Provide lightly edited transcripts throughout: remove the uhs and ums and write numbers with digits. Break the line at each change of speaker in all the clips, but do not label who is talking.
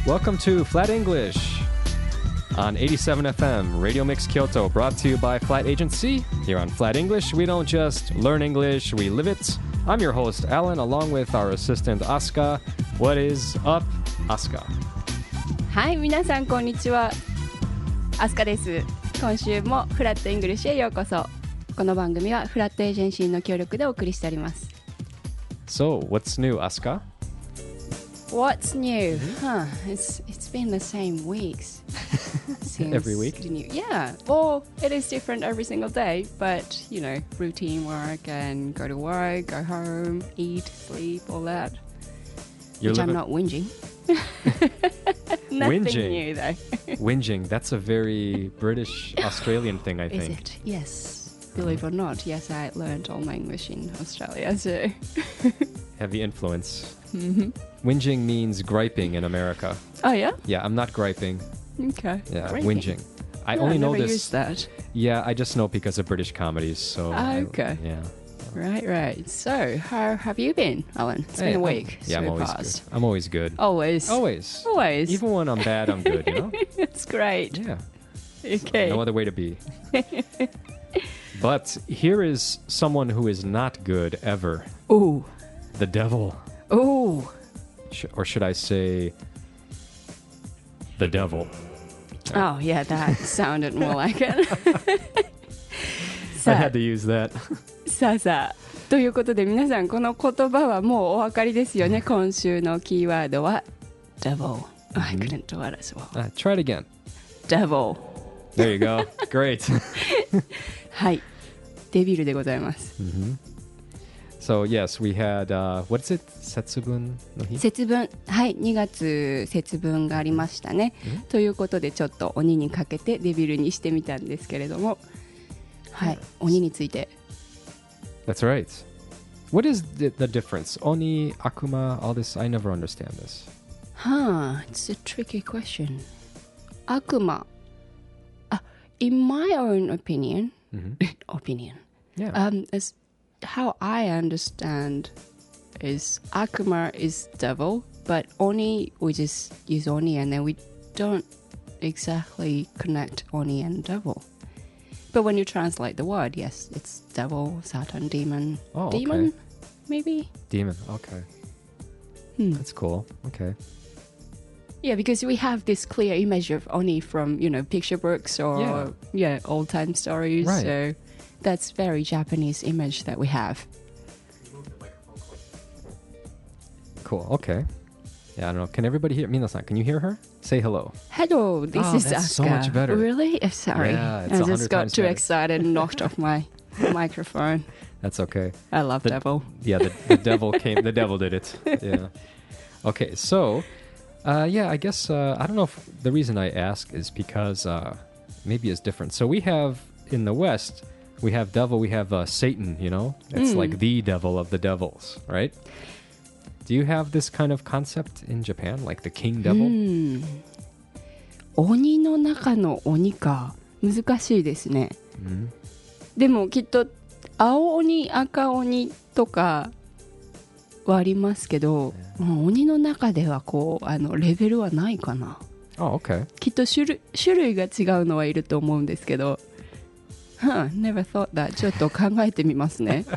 Welcome to Flat English on 87 FM, Radio Mix Kyoto, brought to you by Flat Agency. Here on Flat English, we don't just learn English, we live it. I'm your host, Alan, along with our assistant, Asuka. What is up, Asuka?
はい、皆さんこんにちは。アスカです。今週もフラットイングリッシュへようこそ。この番組はフラットエージェンシーの協力でお送りしております。
So, what's new, Asuka?
What's new? Huh? It's been the same weeks. Since
Every week?
Yeah. Well, it is different every single day, but you know, routine work and go to work, go home, eat, sleep, all that. Which I'm not whinging. Nothing
Whinging.
new though.
Whinging, that's a very British Australian thing, I think.
Is it? Yes. Believe it or not, yes, I learned all my English in Australia too.
Heavy influence. Whinging means griping in America.
Oh yeah?
Yeah, I'm not griping.
Okay.
Yeah,
Great.
whinging. I
No,
only
I've
know
never
this.
used that.
Yeah, I just know because of British comedies. So.
Okay.
Yeah.
Right. So, how have you been, Alan? It's been a week.
I'm always
past.
good. I'm always good.
Always.
Always. Even when I'm bad, I'm good, you know?
It's great.
Yeah.
Okay.
No other way to be. But here is someone who is not good ever.
Ooh.
The devil.
Ooh.
Or should I say, the devil.
Oh, yeah, that sounded more like it.
I had to use that.
さあ。ということで皆さんこの言葉はもうお分かりですよね。今週のキーワードは devil. I couldn't do it as well.
Try it again.
Devil.
There you go. Great.
はい。デビルでございます。
So, yes, we had, what is it? 節分の日?
節分。はい。2月節分がありましたね。ということでちょっと鬼にかけてデビルにしてみたんですけれども。はい。鬼について。
That's right. What is the difference? Oni, Akuma, all this, I never understand this.
It's a tricky question. Akuma. In my own opinion,
Yeah.
as how I understand is Akuma is devil, but Oni, we just use Oni and then we don't exactly connect Oni and devil. But when you translate the word, yes, it's devil, Satan, demon.
Oh, okay.
Demon, maybe?
Demon, okay. That's cool. Okay.
Yeah, because we have this clear image of Oni from, you know, picture books or, old-time stories.
Right.
So that's very Japanese image that we have.
Cool, okay. Yeah, I don't know. Can everybody hear? Mina-san, can you hear her? Say hello.
Hello, this is
that's
Asuka.
so much better.
Really? Sorry.
Yeah, it's
I
100
just got
times
too
better.
excited and knocked off my microphone.
That's okay.
I love devil.
Yeah, the devil came. The devil did it. Yeah. Okay, so, I guess, I don't know if the reason I ask is because maybe it's different. So we have, in the West, we have devil, we have Satan, you know? It's like the devil of the devils, right? Do you have this kind of concept in Japan, like the king devil?
鬼の中の鬼か。難しいですね。でもきっと青鬼、赤鬼とかはありますけど、鬼の中ではこうレベルはないかな。
Oh, okay.
きっと種類が違うのはいると思うんですけど。Never thought that. ちょっと考えてみますね。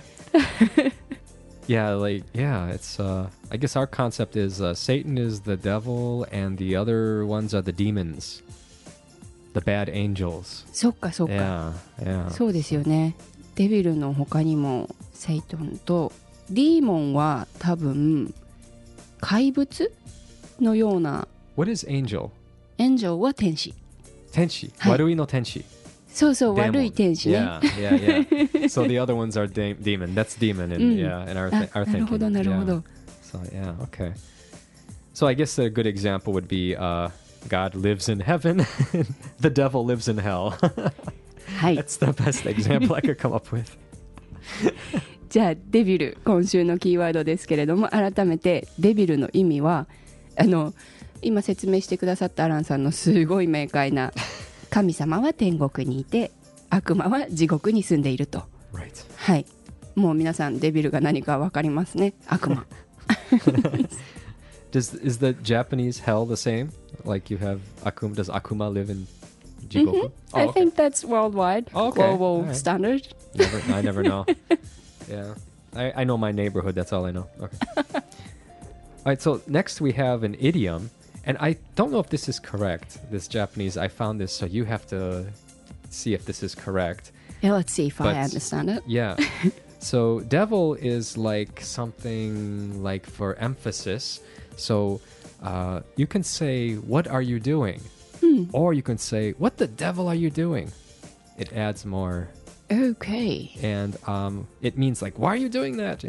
It's, I guess our concept is Satan is the devil and the other ones are the demons. The bad angels.
そっか。
Yeah.
そうですよね。デビルの他にもセイトンとディーモンは多分怪物のような。
What is angel?
エンジェルは天使。
天使。
はい。
悪いの天使。
そうそう、悪い天使ね。
Yeah. So the other ones are demon. That's demon in our thinking.
なるほど、なるほど。
So, okay. So I guess a good example would be God lives in heaven, the devil lives in hell.
はい。
That's the best example I could come up with.
じゃあ、デビル、今週のキーワードですけれども、改めてデビルの意味は、今説明してくださったアランさんのすごい明快な神様は天国にいて悪魔は地獄に住んでいると、
Right.
はい、もう皆さんデビルが何か分かりますね。悪魔
Is the Japanese hell the same? Like you have Akuma? Does Akuma live in Jigoku?
I think that's worldwide, global
Alright.
standard.
I never know. Yeah, I know my neighborhood. That's all I know. Okay. All right. So next we have an idiom, and I don't know if this is correct. This Japanese. I found this, so you have to see if this is correct.
Yeah, let's see if
But-
I understand it.
Yeah. So devil is like something like for emphasis. So you can say, "What are you doing?" Or you can say, "What the devil are you doing?" It adds more,
Okay.
and it means like, "Why are you doing that?"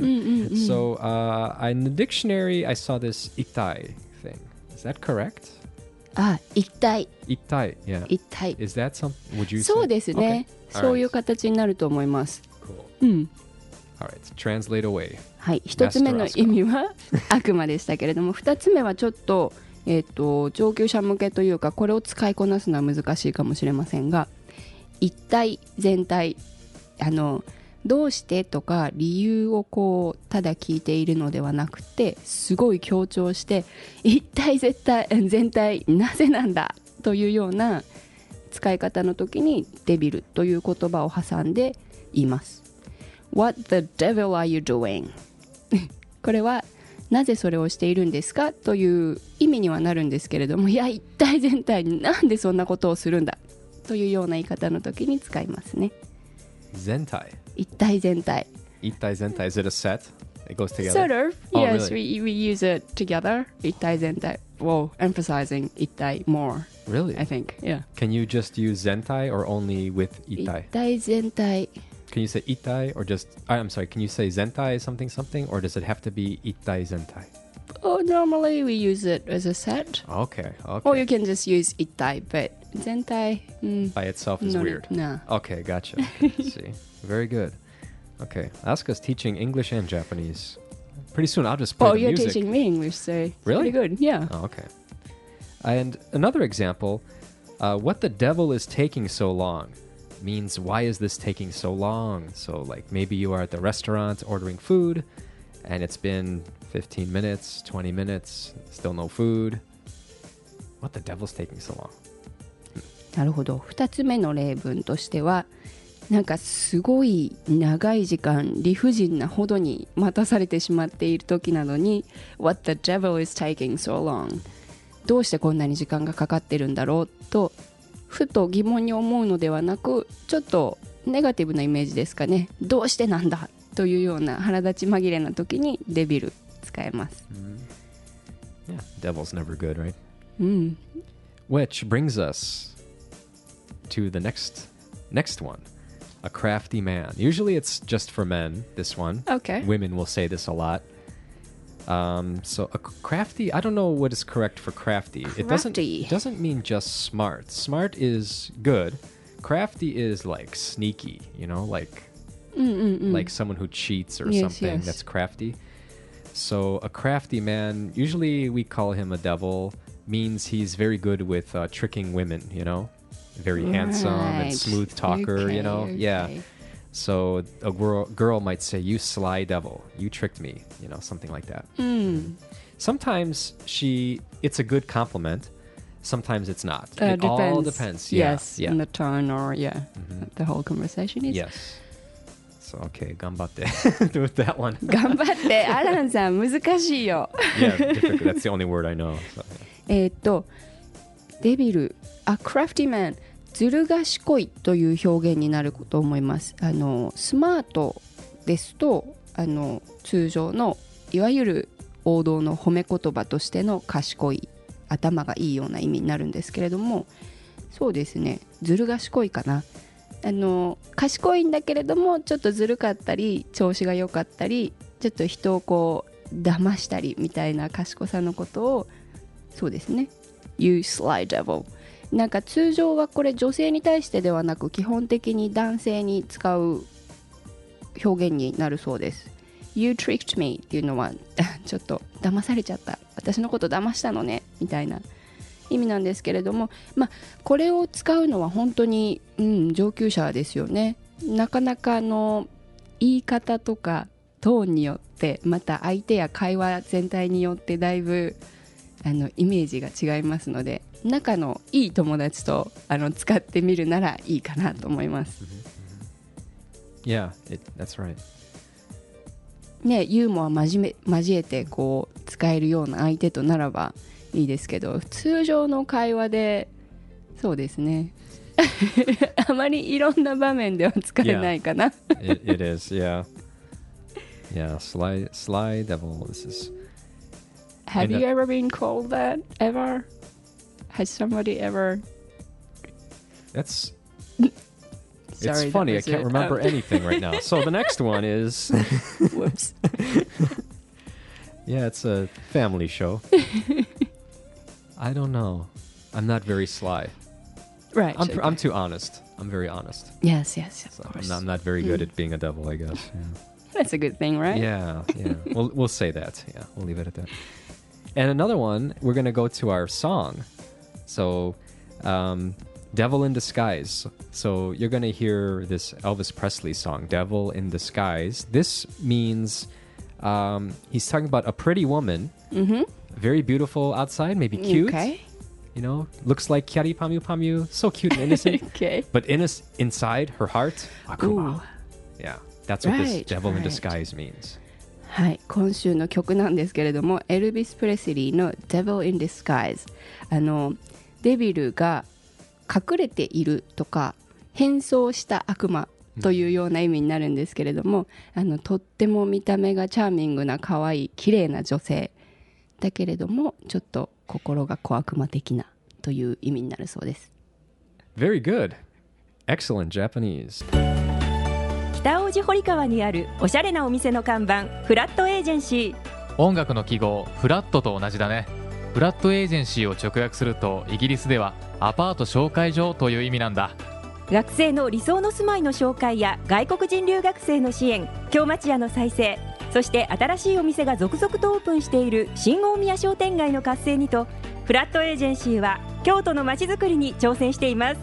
So in the dictionary, I saw this itai thing. Is that correct?
一体
Itai, yeah.
一体
Is that some? Would you?
そうですね、
Okay.
そういう形になると思います。
Cool.
うん。
All right. Translate away.
はい、一つ目の意味は悪魔でしたけれども、二つ目はちょっと、上級者向けというか、これを使いこなすのは難しいかもしれませんが、一体全体、どうしてとか理由をこうただ聞いているのではなくて、すごい強調して一体絶対全体なぜなんだというような使い方の時にデビルという言葉を挟んで言います。 What the devil are you doing? これはなぜそれをしているんですかという意味にはなるんですけれども、いや一体全体になんでそんなことをするんだというような言い方の時に使いますね。
Zentai.
一体全体。
Itai zentai. Is it a set? It goes together.
Sort of.
Oh,
Yes,
really?
we use it together. 一体全体. Well, emphasizing 一体 more,
Really?
I think. Yeah.
Can you just use zentai or only with
一
itai?
体全体.
Can you say itai or just? I'm sorry. Can you say zentai something something or does it have to be itai zentai?
Oh, normally we use it as a set.
Okay. Okay.
Or you can just use 一体, but 全体,
By itself is
no,
weird.
No.
Okay, gotcha. See, very good. Okay, Asuka's teaching English and Japanese. Pretty soon, I'll just play
Oh,
the
you're
music.
teaching me English, so
Really?
pretty good. Yeah.
Oh, okay. And another example, what the devil is taking so long means why is this taking so long? So like maybe you are at the restaurant ordering food and it's been 15 minutes, 20 minutes, still no food. What the devil's taking so long?
なるほど。2つ目の例文としては、なんかすごい長い時間理不尽なほどに待たされてしまっている時なのに What the devil is taking so long? どうしてこんなに時間がかかってるんだろうとふと疑問に思うのではなく、ちょっとネガティブなイメージですかね。どうしてなんだというような腹立ち紛れな時にデビル使えます。
Yeah, devil's never good, right?
うん。
Which brings us to the next one. A crafty man. Usually it's just for men, this one.
Okay.
Women will say this a lot. So a crafty, I don't know what is correct for crafty.
Crafty.
It doesn't mean just smart. Smart is good. Crafty is like sneaky, you know, like someone who cheats or
Yes,
something
yes.
that's crafty. So a crafty man, usually we call him a devil, means he's very good with tricking women, you know? Very handsome and
Right.
smooth talker, you know?
Okay,
Yeah.
okay.
So a girl might say, "You sly devil, you tricked me," you know, something like that. Sometimes it's a good compliment. Sometimes it's not. It all depends. Yeah,
Yes,
yeah.
in the tone or the whole conversation is.
Yes. So okay, ganbatte with that one.
頑張ってアランさん難しいよ。
Yeah, difficult. That's the only word I know. So.
デビル A crafty man ずる賢いという表現になると思います。スマートですと通常のいわゆる王道の褒め言葉としての賢い頭がいいような意味になるんですけれども、そうですね、ずる賢いかな。賢いんだけれどもちょっとずるかったり調子が良かったりちょっと人をこう騙したりみたいな賢さのことをそうですね You sly devil なんか通常はこれ女性に対してではなく基本的に男性に使う表現になるそうです。 You tricked me っていうのはちょっと騙されちゃった、私のこと騙したのねみたいな意味なんですけれども、これを使うのは本当に、上級者ですよね。なかなか言い方とかトーンによってまた相手や会話全体によってだいぶイメージが違いますので、仲のいい友達と使ってみるならいいかなと思います。
Yeah, that's right.
ね、ユーモア交えてこう使えるような相手とならばいいですけど、通常の会話でそうですねあまりいろんな場面では使えないかな。
It is, yeah. Yeah, sly devil. This is.
Have you ever been called that ever? Has somebody ever?
That's.
Sorry,
it's funny. I can't remember anything right now. So the next one is.
Whoops.
Yeah, it's a family show. I don't know. I'm not very sly.
Right.
I'm too honest. I'm very honest.
Yes, of
So
course.
I'm not very good at being a devil, I guess. Yeah.
That's a good thing, right?
Yeah. We'll say that. Yeah, we'll leave it at that. And another one, we're gonna go to our song. So, "Devil in Disguise." So you're gonna hear this Elvis Presley song, "Devil in Disguise." This means he's talking about a pretty woman, very beautiful outside, maybe cute.
Okay.
You know, looks like Kyari Pamu Pamu, so cute and innocent.
Okay.
But inside her heart, Akuma.
Ooh.
Yeah, that's what this
Right,
devil in
right.
disguise means.
はい、今週の曲なんですけれども、エルビス・プレスリーの Devil in Disguise。デビルが隠れているとか変装した悪魔というような意味になるんですけれども、とっても見た目がチャーミングな可愛い綺麗な女性だけれども、ちょっと心が小悪魔的なという意味になるそうです。
Very good. Excellent Japanese.
北大路堀川にあるおしゃれなお店の看板、フラットエージェンシー。
音楽の記号フラットと同じだね。フラットエージェンシーを直訳するとイギリスではアパート紹介所という意味なんだ。
学生の理想の住まいの紹介や外国人留学生の支援、京町屋の再生、そして新しいお店が続々とオープンしている新大宮商店街の活性にと、フラットエージェンシーは京都のまちづくりに挑戦しています。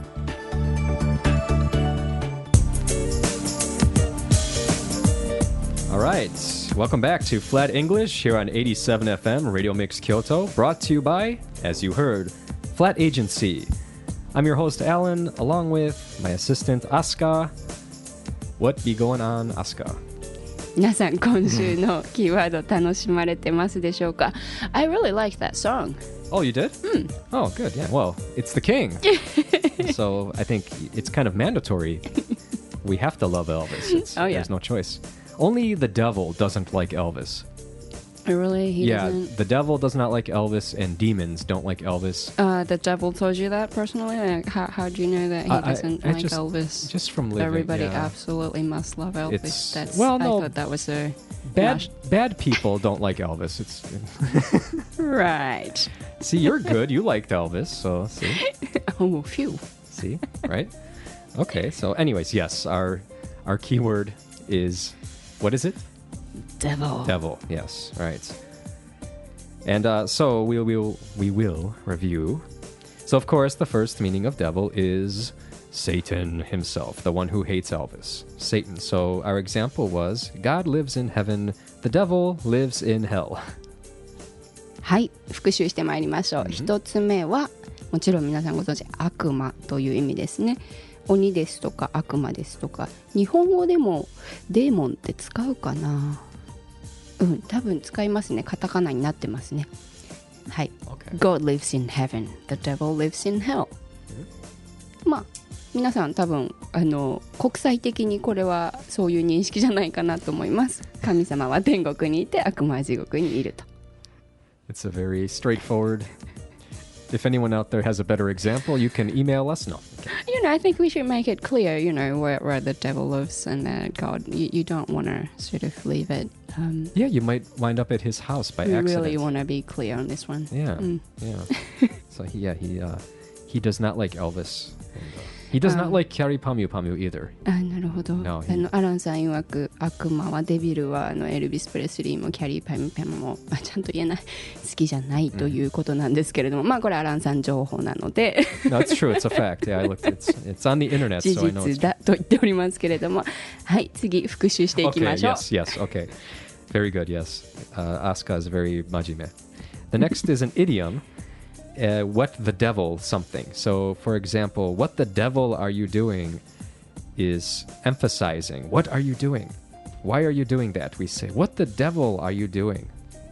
All right. Welcome back to Flat English here on 87 FM Radio Mix Kyoto, brought to you by, as you heard, Flat Agency. I'm your host, Alan, along with my assistant, Asuka. What be going on, Asuka?
皆さん今週のキーワード楽しまれてますでしょうか？ I really like that song.
Oh, you did? Oh, good. Yeah. Well, it's the king. So I think it's kind of mandatory. We have to love Elvis.
Oh, yeah.
There's no choice. Only the devil doesn't like Elvis.
Really? He doesn't?
The devil does not like Elvis, and demons don't like Elvis.
The devil told you that personally? Like, how do you know that he doesn't like Elvis?
Just from living.
Everybody
yeah.
absolutely must love Elvis.
It's- well, no.
I thought that was a
Bad people don't like Elvis. It's
right.
See, you're good. You liked Elvis, so see,
Oh, phew.
see, right? Okay. So, anyways, yes, our keyword is, what is it?
Devil.
Devil. Yes. Right. And so we will review. So, of course, the first meaning of devil is Satan himself, the one who hates Elvis. Satan. So our example was, God lives in heaven, the devil lives in hell.
はい、復習してまいりましょう。一つ目はもちろん皆さんご存知、悪魔という意味ですね。鬼ですとか悪魔ですとか、日本語でもデーモンって使うかな？多分使いますね。カタカナになってますね。はい。
Okay.
God lives in heaven, the devil lives in hell. まあ皆さん多分国際的にこれはそういう認識じゃないかなと思います。神様は天国にいて悪魔は地獄にいると。
It's a very straightforward. If anyone out there has a better example, you can email us. No. Okay.
I think we should make it clear, where the devil lives and God. You don't want to sort of leave it.
Yeah, you might wind up at his house by
We
accident.
really want to be clear on this one.
Yeah, yeah. So he does not like Elvis. And, He does not like Kyari Pamu Pamu either.
なるほど。
No, he-
アランさん曰く悪魔はデビルはエルビス・プレスリーもキャリー・パム・パムも、ちゃんと言えない好きじゃないということなんですけれども、まあこれアランさん情報なので
No, it's true. It's a fact. Yeah, I looked. It's on the internet,
事
so I know it's
実だと言っておりますけれども、はい次復習していき
okay.
ましょう。
Yes, yes. Okay. Very good. Yes. Asuka is very majime. The next is an idiom. What the devil something. So, for example, what the devil are you doing is emphasizing. What are you doing? Why are you doing that? We say, what the devil are you doing?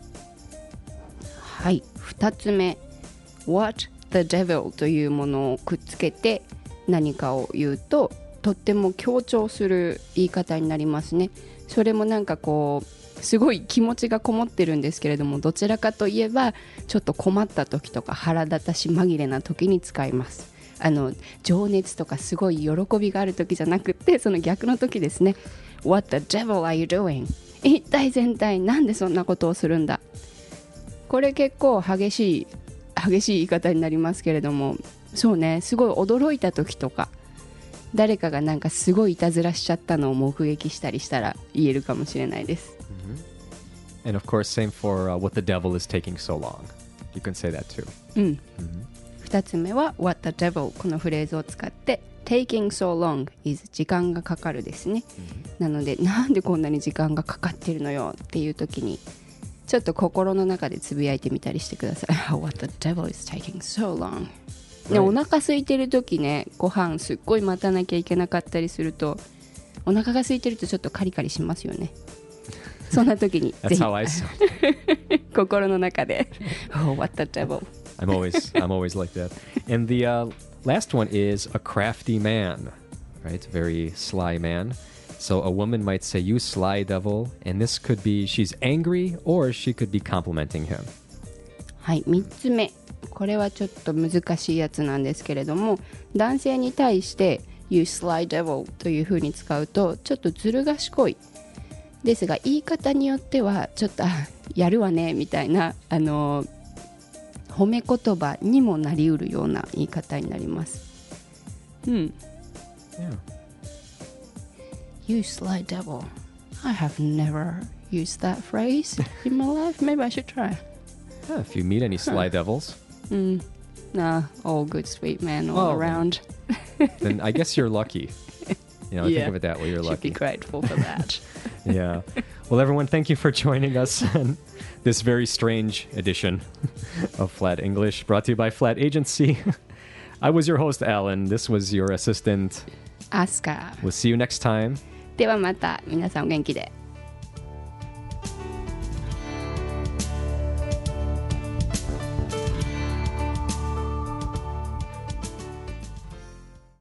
はい2つ目 What the devil というものをくっつけて何かを言うととっても強調する言い方になりますね。それもなんかこうすごい気持ちがこもってるんですけれども、どちらかといえばちょっと困った時とか腹立たし紛れな時に使います。情熱とかすごい喜びがある時じゃなくて、その逆の時ですね。 What the devil are you doing? 一体全体なんでそんなことをするんだ。これ結構激しい言い方になりますけれども、そうね、すごい驚いた時とか誰かがなんかすごいいたずらしちゃったのを目撃したりしたら言えるかもしれないです。
And of course, same for what the devil is taking so long. You can say that too.
2つ目は What the devil このフレーズを使って Taking so long is 時間がかかるですね、なのでなんでこんなに時間がかかってるのよっていう時にちょっと心の中でつぶやいてみたりしてください。What the devil is taking so long、ね、
Right.
お腹空いてる時ね、ご飯すっごい待たなきゃいけなかったりすると、お腹が空いてるとちょっとカリカリしますよね。そんな時にぜ
That's
ひ
how I sound.
心の中でOh, what the devil.
I'm always like that. And the last one is a crafty man, right? Very sly man. So a woman might say, "You sly devil," and this could be she's angry or she could be complimenting him.
はい、3つ目、これはちょっと難しいやつなんですけれども、男性に対して You sly devil という風に使うとちょっとずる賢いですが、言い方によってはちょっとやるわねみたいな褒め言葉にもなりうるような言い方になります。
Yeah.
You sly devil. I have never used that phrase in my life. Maybe I should try.
Yeah, if you meet any sly devils,
Nah, all good sweet men all
Well,
around.
then I guess you're lucky. You know,
Yeah.
think of it that way. You're
Should be
lucky.
grateful for that.
Yeah. Well, everyone, thank you for joining us on this very strange edition of Flat English, brought to you by Flat Agency. I was your host, Alan. This was your assistant.
アスカ
We'll see you next time.
ではまた皆さんお元気で。